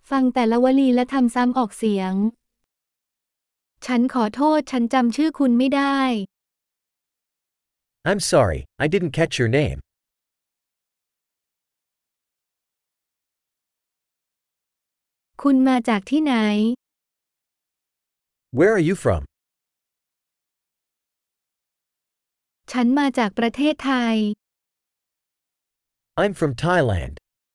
ฟังแต่ละวลีและทำซ้ำออกเสียงฉันขอโทษฉันจำชื่อคุณไม่ได้ I'm sorry, I didn't catch your name. คุณมาจากที่ไหน Where are you from? ฉันมาจากประเทศไทย I'm from Thailand.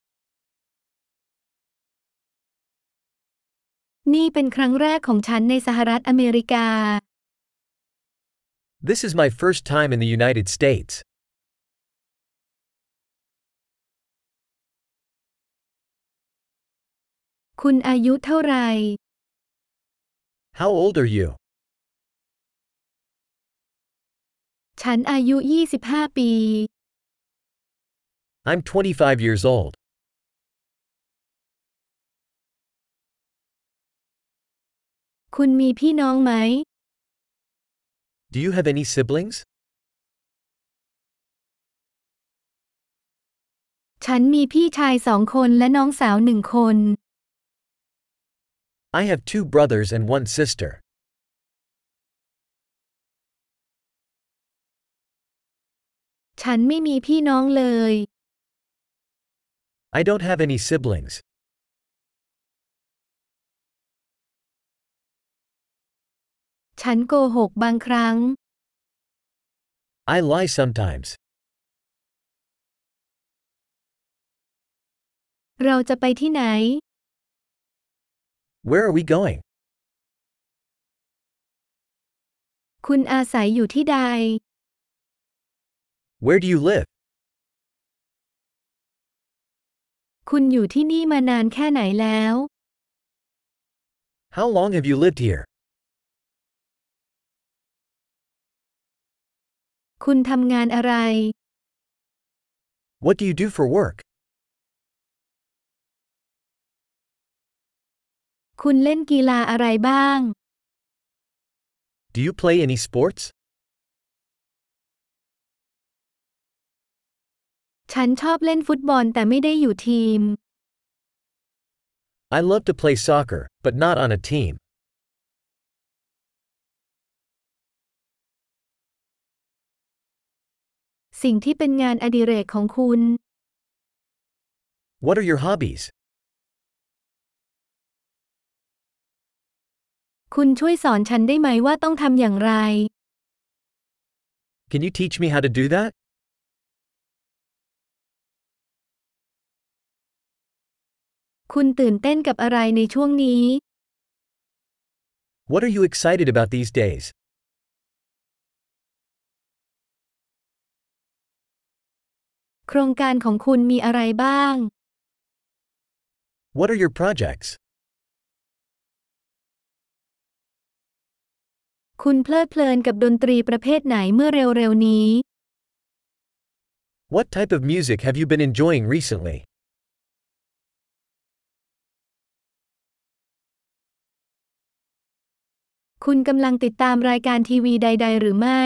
นี่เป็นครั้งแรกของฉันในสหรัฐอเมริกา This is my first time in the United States. คุณอายุเท่าไหร่ How old are you? ฉันอายุ 25 ปี I'm 25 years old. คุณมีพี่น้องไหม Do you have any siblings? ฉันมีพี่ชาย2 คนและน้องสาว1 คน I have 2 brothers and 1 sister. ฉันไม่มีพี่น้องเลย I don't have any siblings. ฉันโกหกบางครั้ง I lie sometimes. เราจะไปที่ไหน Where are we going? คุณอาศัยอยู่ที่ใด Where do you live? คุณอยู่ที่นี่มานานแค่ไหนแล้ว How long have you lived here? คุณทำงานอะไร What do you do for work? คุณเล่นกีฬาอะไรบ้าง Do you play any sports? ฉันชอบเล่นฟุตบอลแต่ไม่ได้อยู่ทีม I love to play soccer, but not on a team. สิ่งที่เป็นงานอดิเรกของคุณ What are your hobbies? คุณช่วยสอนฉันได้ไหมว่าต้องทำอย่างไร Can you teach me how to do that? คุณตื่นเต้นกับอะไรในช่วงนี้ What are you excited about these days? โครงการของคุณมีอะไรบ้าง What are your projects? คุณเพลิดเพลินกับดนตรีประเภทไหนเมื่อเร็วๆนี้ What type of music have you been enjoying recently? คุณกำลังติดตามรายการทีวีใดๆหรือไม่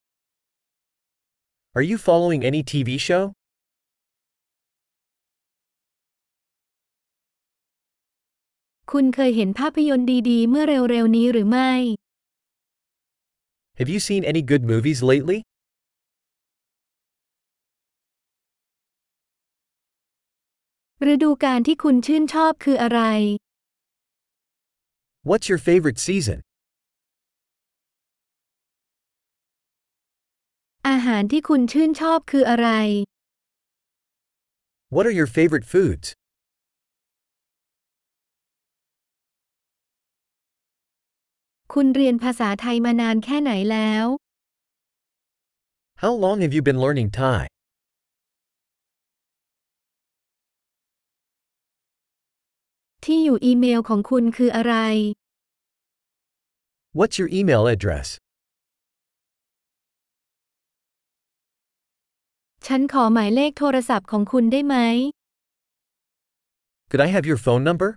Are you following any TV show? คุณเคยเห็นภาพยนตร์ดีๆเมื่อเร็วๆนี้หรือไม่ Have you seen any good movies lately? ฤดูกาลที่คุณชื่นชอบคืออะไร What's your favorite season? อาหารที่คุณชื่นชอบคืออะไร What are your favorite foods? คุณเรียนภาษาไทยมานานแค่ไหนแล้ว How long have you been learning Thai? ที่อยู่อีเมลของคุณคืออะไร What's your email address? ฉันขอหมายเลขโทรศัพท์ของคุณได้ไหม Could I have your phone number?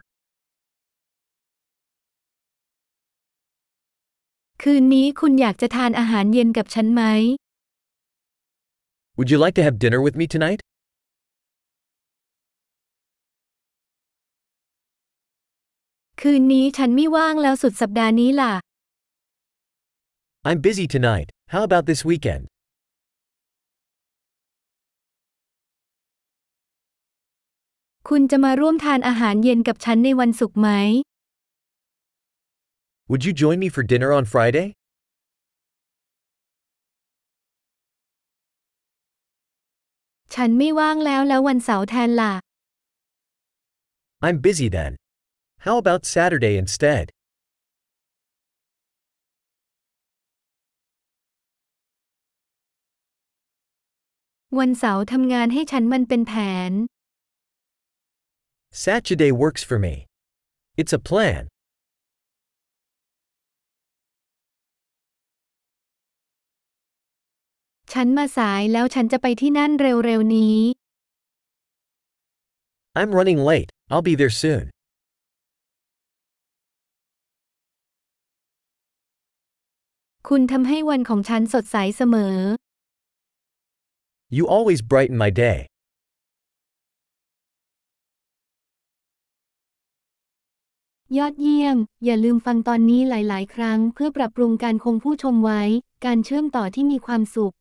คืนนี้คุณอยากจะทานอาหารเย็นกับฉันไหม Would you like to have dinner with me tonight? คืนนี้ฉันไม่ว่างแล้วสุดสัปดาห์นี้ล่ะ I'm busy tonight. How about this weekend? คุณจะมาร่วมทานอาหารเย็นกับฉันในวันศุกร์ไหม Would you join me for dinner on Friday? ฉันไม่ว่างแล้ววันเสาร์แทนล่ะ I'm busy then. How about Saturday instead? วันเสาร์ทำงานให้ฉันมันเป็นแผน Saturday works for me. It's a plan. ฉันมาสายแล้วฉันจะไปที่นั่นเร็วๆนี้ I'm running late. I'll be there soon. คุณทำให้วันของฉันสดใสเสมอ You always brighten my day. ยอดเยี่ยม อย่าลืมฟังตอนนี้หลายๆ ครั้งเพื่อปรับปรุงการคงผู้ชมไว้ การเชื่อมต่อที่มีความสุข